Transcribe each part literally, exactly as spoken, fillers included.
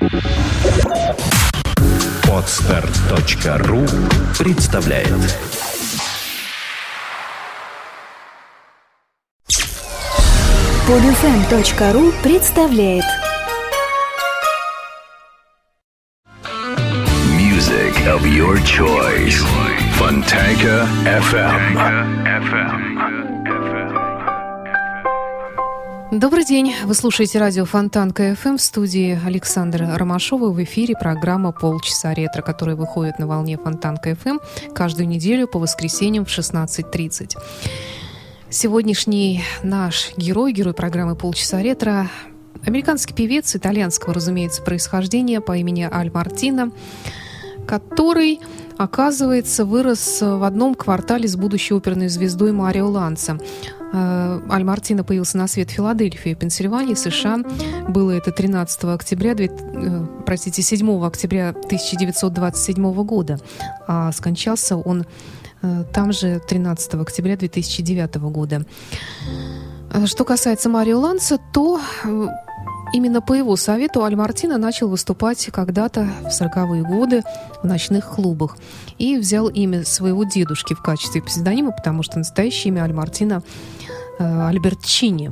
Подстер точка ру представляет. Подфм точка ру представляет. Music of your choice. Фонтанка эф эм. Добрый день. Вы слушаете радио Фонтанка эф эм, в студии Александра Ромашова. В эфире программа «Полчаса ретро», которая выходит на волне Фонтанка эф эм каждую неделю по воскресеньям в шестнадцать тридцать. Сегодняшний наш герой, герой программы «Полчаса ретро», американский певец итальянского, разумеется, происхождения по имени Аль Мартино, который, оказывается, вырос в одном квартале с будущей оперной звездой Марио Ланца. Аль Мартино появился на свет в Филадельфии, Пенсильвании, США. Было это тринадцатого октября, простите, седьмого октября тысяча девятьсот двадцать седьмого года. А скончался он там же тринадцатого октября две тысячи девятого года. Что касается Марио Ланца, то именно по его совету Аль Мартино начал выступать когда-то в сороковые годы в ночных клубах и взял имя своего дедушки в качестве псевдонима, потому что настоящее имя Аль Мартино э, Альберчини.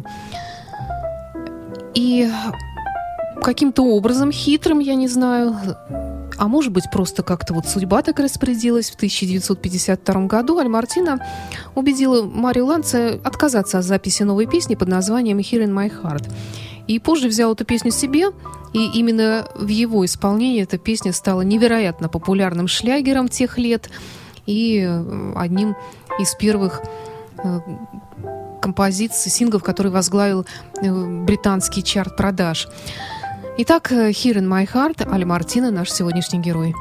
И каким-то образом хитрым, я не знаю, а может быть, просто как-то вот судьба так распорядилась, в тысяча девятьсот пятьдесят втором году Аль Мартино убедила Марио Ланца отказаться от записи новой песни под названием «Here in my heart». И позже взял эту песню себе, и именно в его исполнении эта песня стала невероятно популярным шлягером тех лет и одним из первых композиций, синглов, который возглавил британский чарт продаж. Итак, «Here in my heart», Аль Мартино, наш сегодняшний герой.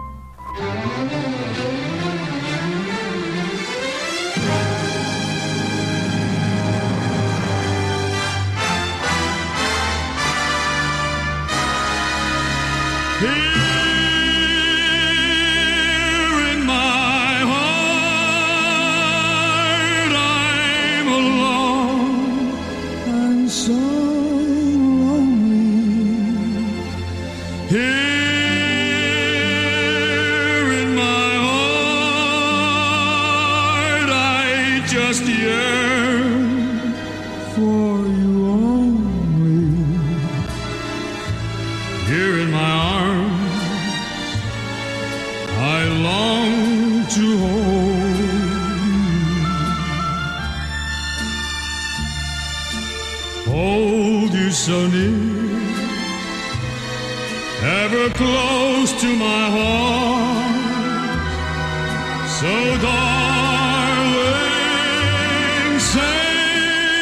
So near, ever close to my heart, so darling, say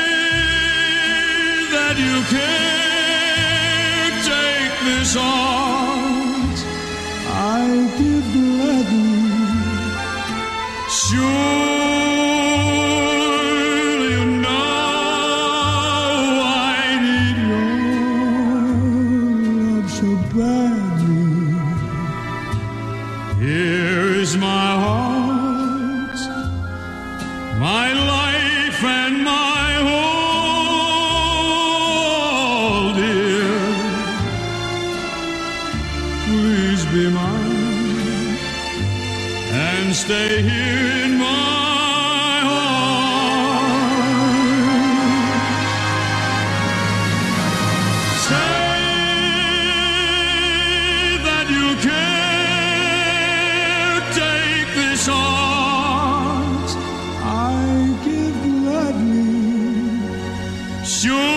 that you can't take this heart I give gladly, sure. Stay here in my heart. Say that you can't take this heart I give gladly. Sure.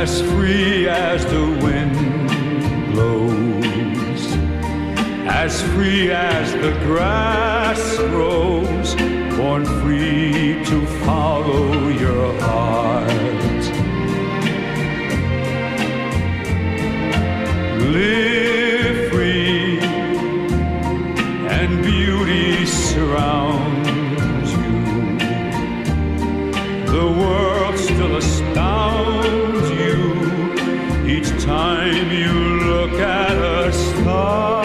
as free as the wind blows, as free as the grass grows, born free to follow your heart. Live free and beauty surrounds you. The world still astounds you each time you look at a star.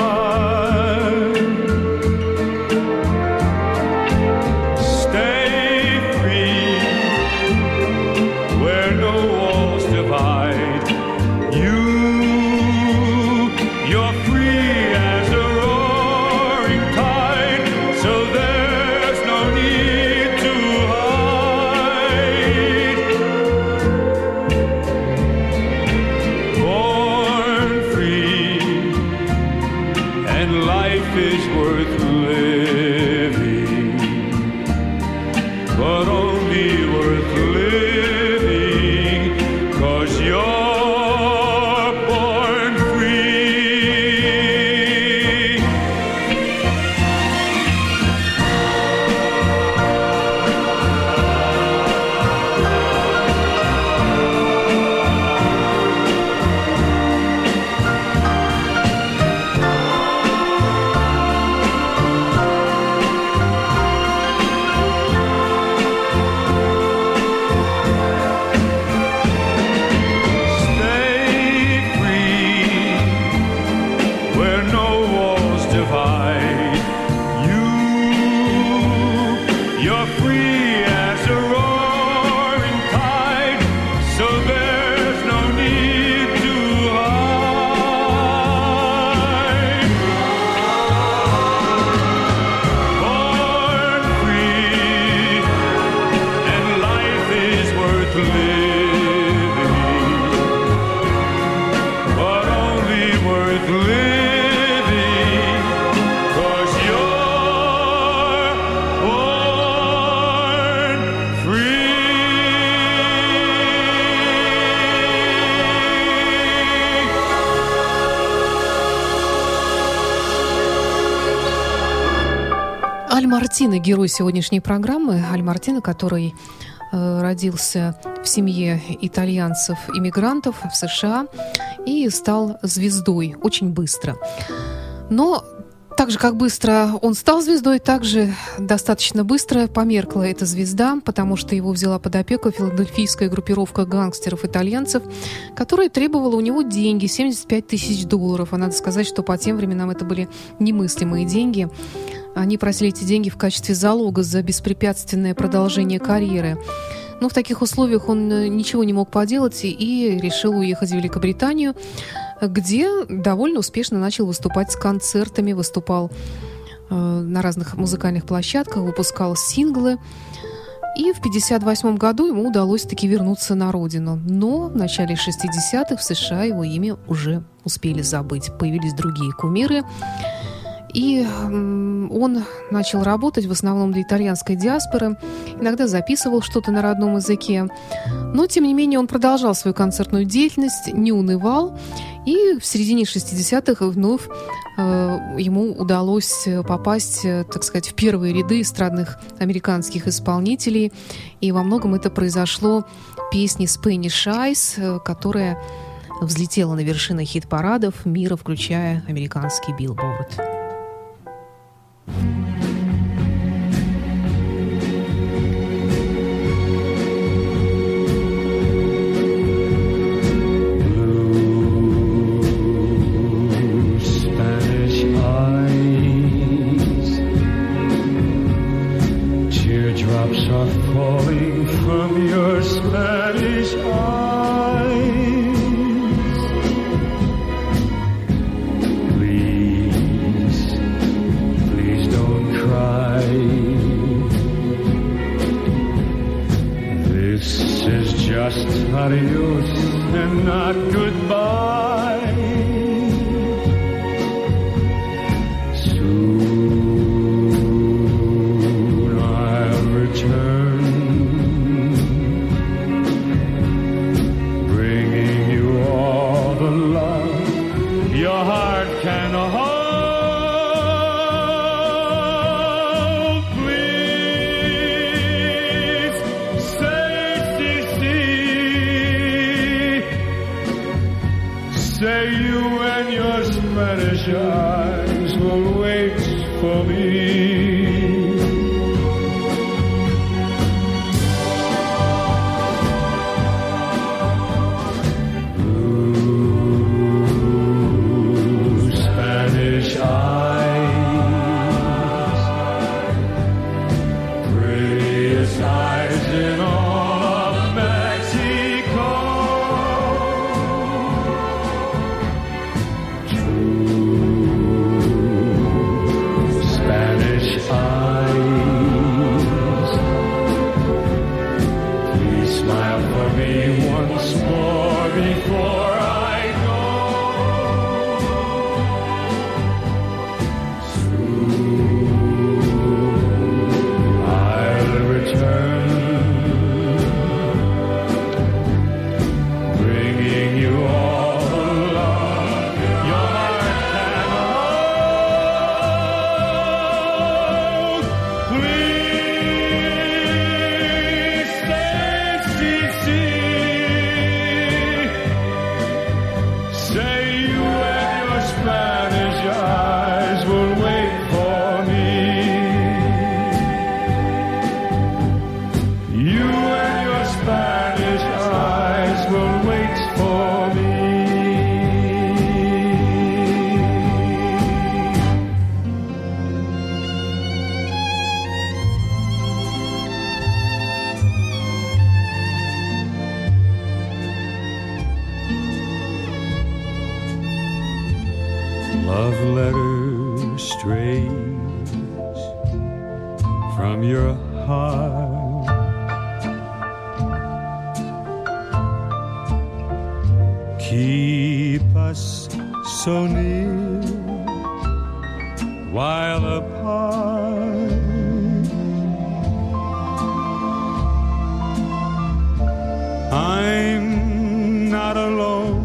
Stay free where no walls divide you. You're free as a roaring tide, so there's no need to hide. Born free, and life is worth living, but only worth living 'cause you're born free. Stay free where no walls divide you. You're free as a roaring tide, so there's no need to hide. Born free, and life is worth living, but only worth living 'cause you're born free. Аль Мартино, герой сегодняшней программы. Аль Мартино, который э, родился в семье итальянцев-иммигрантов в США и стал звездой очень быстро. Но так же, как быстро он стал звездой, так же достаточно быстро померкла эта звезда, потому что его взяла под опеку филадельфийская группировка гангстеров-итальянцев, которая требовала у него деньги, семьдесят пять тысяч долларов. А надо сказать, что по тем временам это были немыслимые деньги. Они просили эти деньги в качестве залога за беспрепятственное продолжение карьеры. Но в таких условиях он ничего не мог поделать и решил уехать в Великобританию, где довольно успешно начал выступать с концертами, выступал э, на разных музыкальных площадках, выпускал синглы. И в пятьдесят восьмом году ему удалось таки вернуться на родину. Но в начале шестидесятых в США его имя уже успели забыть. Появились другие кумиры. И он начал работать в основном для итальянской диаспоры, иногда записывал что-то на родном языке, но, тем не менее, он продолжал свою концертную деятельность, не унывал, и в середине шестидесятых вновь э, ему удалось попасть, так сказать, в первые ряды эстрадных американских исполнителей, и во многом это произошло песней Spanish Eyes, которая взлетела на вершины хит-парадов мира, включая американский Billboard. Teardrops are falling from your Spanish eyes. Please, please don't cry. This is just adios and not goodbye. Return, bringing Spanish eyes will wait for me. Love letters straight from your heart, keep us so near while apart. I'm not alone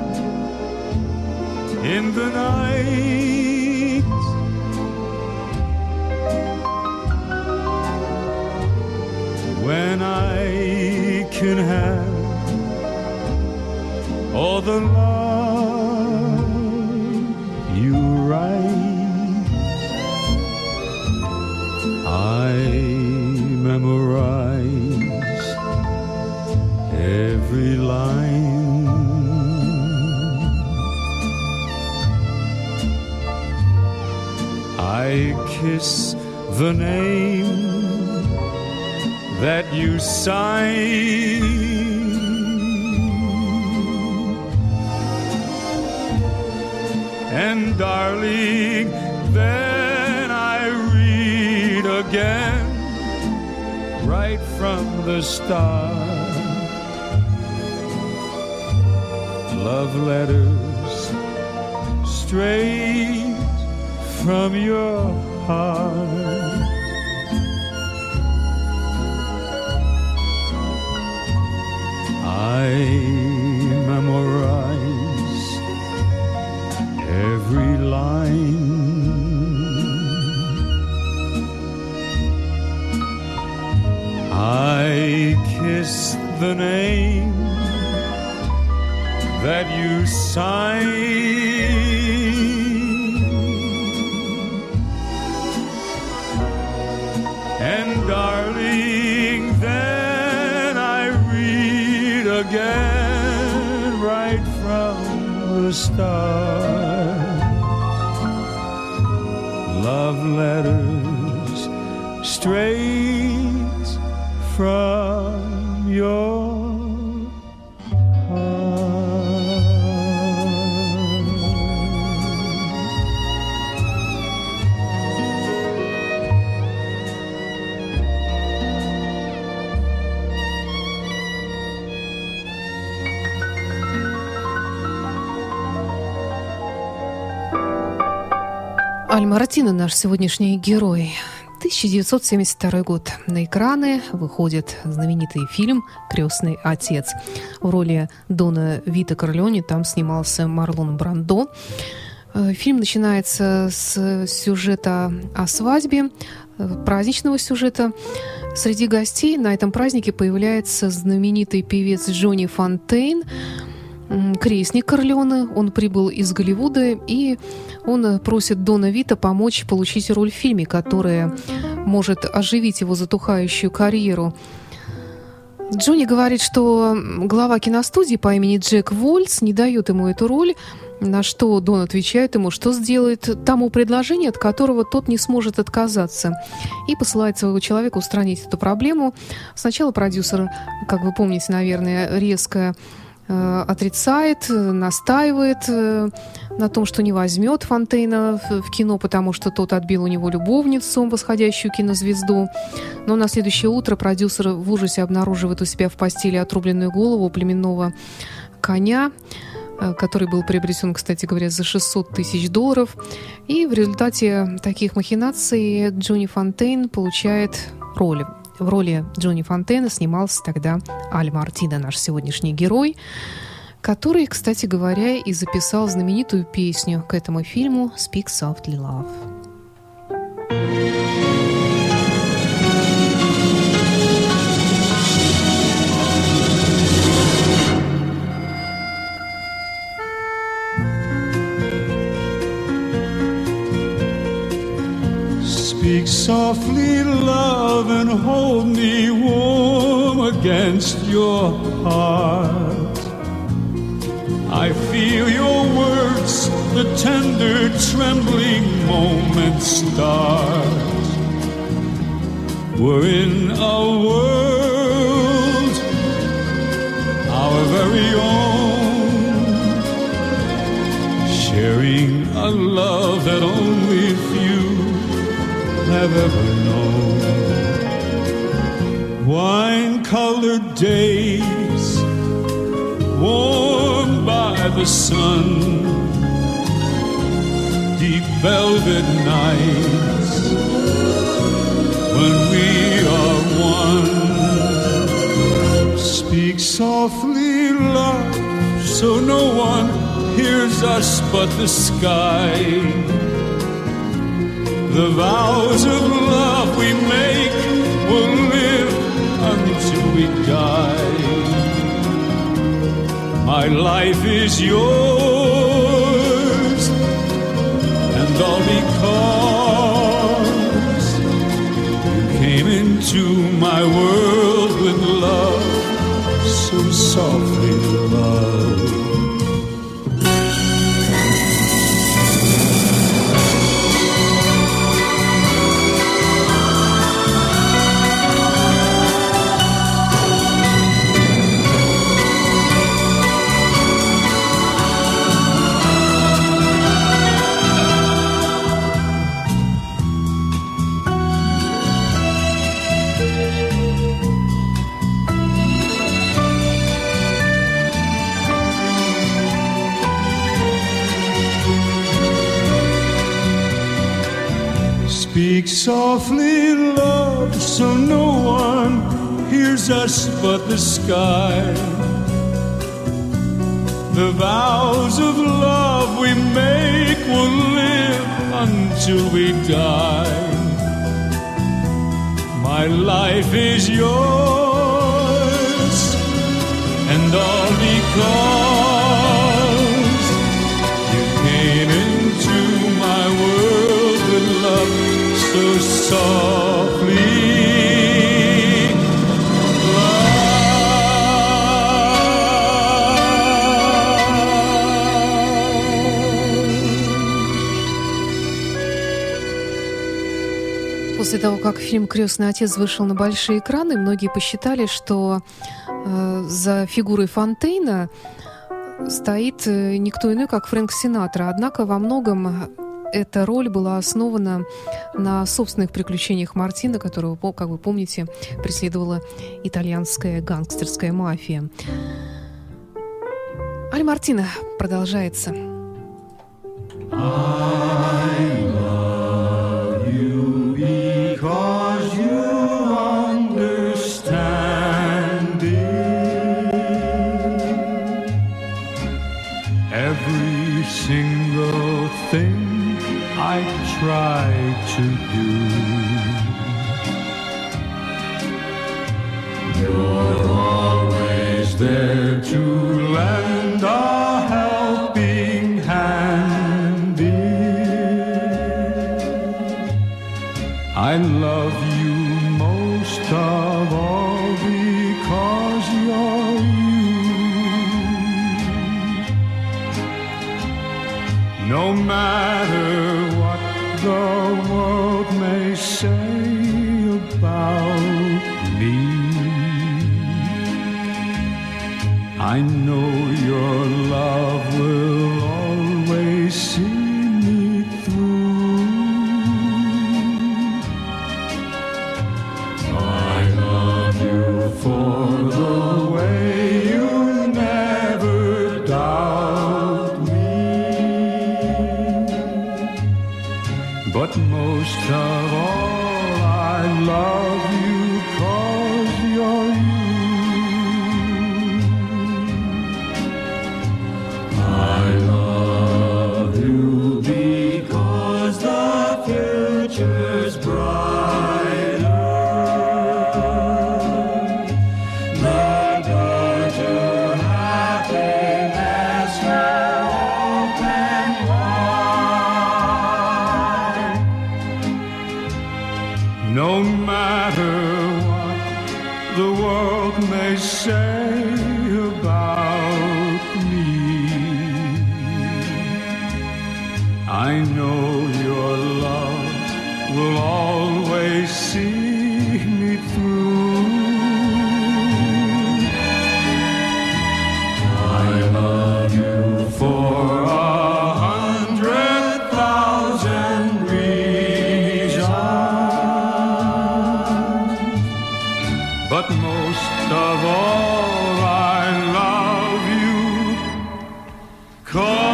in the night when I can have all the love you write. I memorize every line. I kiss the name that you sign, and darling, then I read again right from the start. Love letters straight from your heart. I memorize every line. I kiss the name that you sign, and darling, then I read again right from the start. Love letters straight from your Аль-Маратина, наш сегодняшний герой. тысяча девятьсот семьдесят второй год. На экраны выходит знаменитый фильм «Крестный отец». В роли Дона Вито Корлеоне там снимался Марлон Брандо. Фильм начинается с сюжета о свадьбе, праздничного сюжета. Среди гостей на этом празднике появляется знаменитый певец Джонни Фонтейн. крестник Корлеоне. Он прибыл из Голливуда, и он просит Дона Вита помочь получить роль в фильме, которая может оживить его затухающую карьеру. Джонни говорит, что глава киностудии по имени Джек Вольц не дает ему эту роль, на что Дон отвечает ему, что сделает тому предложение, от которого тот не сможет отказаться, и посылает своего человека устранить эту проблему. Сначала продюсер, как вы помните, наверное, резко э, отрицает, настаивает э, на том, что не возьмет Фонтейна в, в кино, потому что тот отбил у него любовницу, восходящую кинозвезду. Но на следующее утро продюсер в ужасе обнаруживает у себя в постели отрубленную голову племенного коня, который был приобретен, кстати говоря, за шестьсот тысяч долларов. И в результате таких махинаций Джонни Фонтейн получает роль. В роли Джонни Фонтейна снимался тогда Аль Мартино, наш сегодняшний герой, который, кстати говоря, и записал знаменитую песню к этому фильму «Speak Softly, Love». Speak softly, love, and hold me warm against your heart. I feel your words, the tender, trembling moment start. We're in a world, our very own, sharing a love that only few have ever known. Wine-colored days, warmed by the sun, deep velvet nights, when we are one. Speak softly, love, so no one hears us but the sky. The vows of love we make will live until we die. My life is yours, and all because you came into my world with love, so softly, love. Speak softly, love, so no one hears us but the sky. The vows of love we make will live until we die. My life is yours, and all because you came into my world with love, so softly, После того, как фильм «Крестный отец» вышел на большие экраны, многие посчитали, что э, за фигурой Фонтейна стоит э, никто иной, как Фрэнк Синатра. Однако во многом эта роль была основана на собственных приключениях Мартино, которого, как вы помните, преследовала итальянская гангстерская мафия. Аль Мартино продолжается. Because you understand it. Every single thing I try to do, you're always there to lend a I love you most of all because you're you. No matter what the world may say about me, I know your love will always see me through. I love you for the way you never doubt me, but most of all I love you 'cause you're you. I love you because the future's brighter. The door to happiness will open wide. No matter what the world may say about me, I know your love will always see me through. I love you for a hundred thousand reasons, but most of all I love you 'cause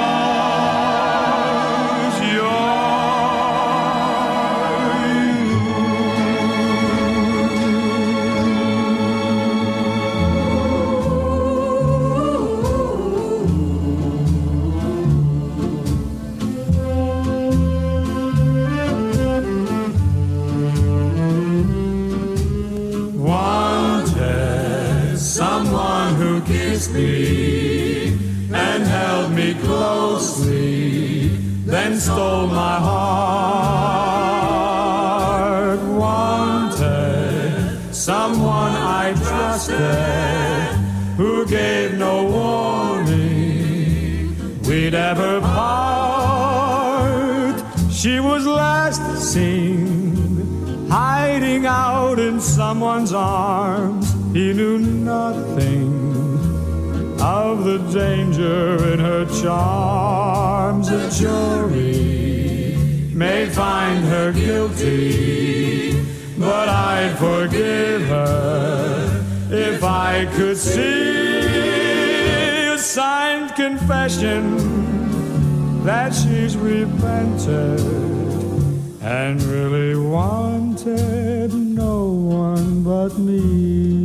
me and held me closely, then stole my heart. Wanted someone I trusted, who gave no warning we'd ever part. She was last seen hiding out in someone's arms. He knew nothing of the danger in her charms. A jury may find her guilty, but I'd forgive her if I could see a signed confession that she's repented and really wanted no one but me.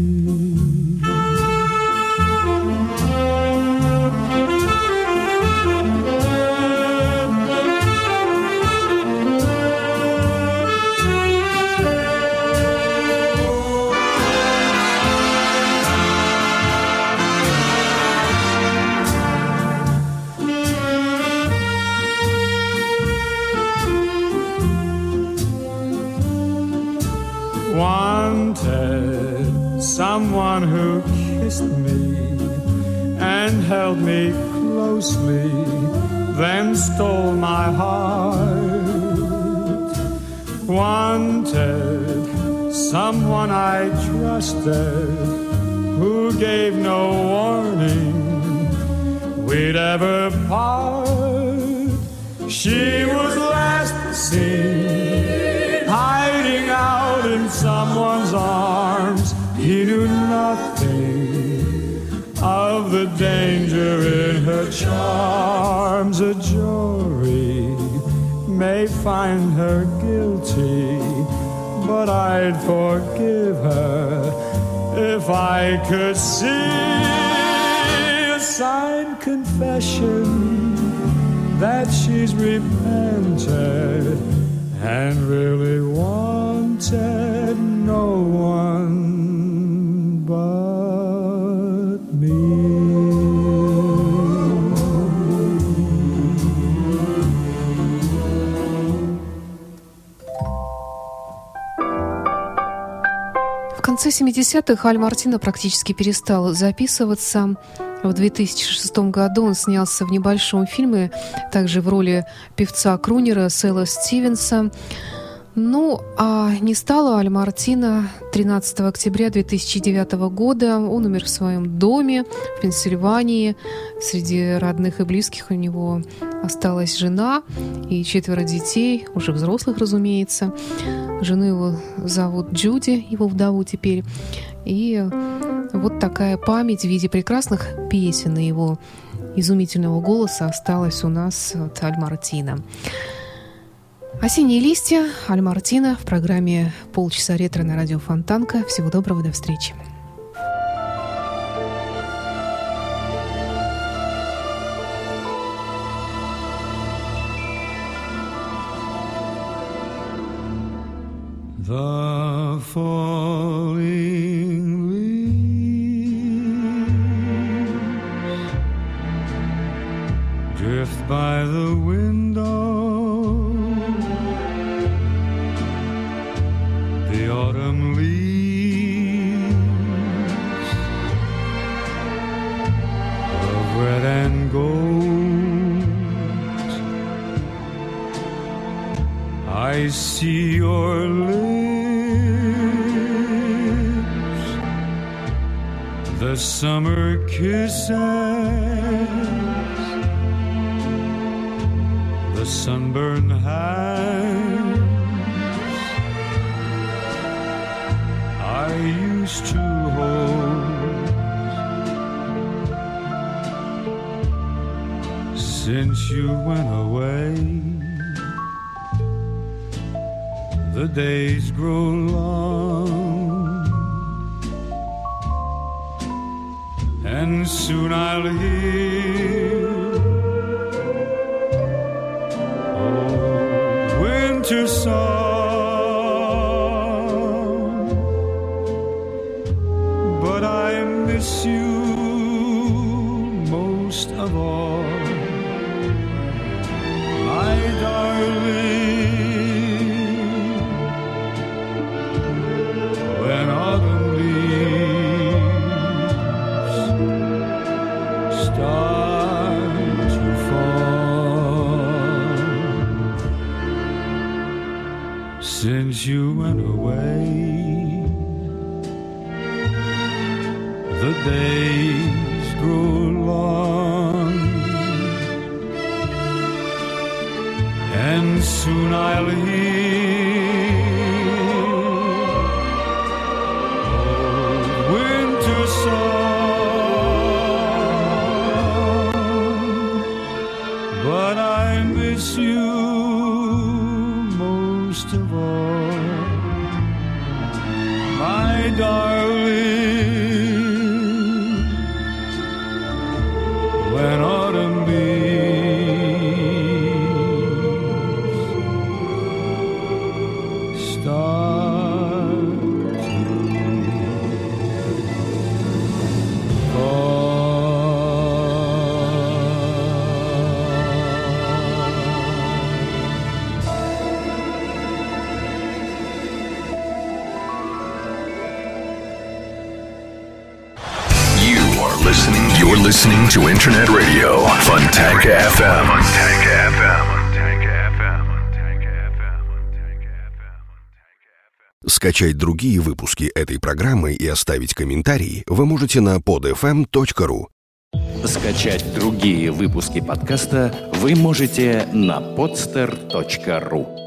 Wanted someone who kissed me and held me closely, then stole my heart. Wanted someone I trusted, who gave no warning we'd ever part. She was last seen hiding out in someone's arms. He knew nothing of the danger in her charms. A jury may find her guilty, but I'd forgive her if I could see a signed confession that she's repented and really wanted no one but me. конце семидесятых Аль Мартино практически перестал записываться. В две тысячи шестом году он снялся в небольшом фильме, также в роли певца-крунера Сэла Стивенса. Ну, а не стало Аль Мартино тринадцатого октября две тысячи девятого года. Он умер в своем доме в Пенсильвании. Среди родных и близких у него осталась жена и четверо детей, уже взрослых, разумеется. Жену его зовут Джуди, его вдову теперь. И вот такая память в виде прекрасных песен и его изумительного голоса осталась у нас от Аль Мартино. «Осенние листья», Аль Мартино в программе «Полчаса ретро» на радио Фонтанка. Всего доброго, до встречи. The falling leaves drift by the window. The autumn leaves of red and gold. I see your lips, the summer kisses, the sunburned hands I used to hold. Since you went away, the days grow long, and soon I'll hear old winter song. Miss you most of all, my darling. When autumn leaves start to fall, since you went away, the days grow long, and soon I'll hear old winter song. But I miss you most of all, my darling. When autumn leaves start to fall. You are listening. You're listening to Internet Radio Fontanka эф эм. Fontanka эф эм. Скачать другие выпуски этой программы и оставить комментарии вы можете на под эф эм точка ру. Скачать другие выпуски подкаста вы можете на подстер точка ру.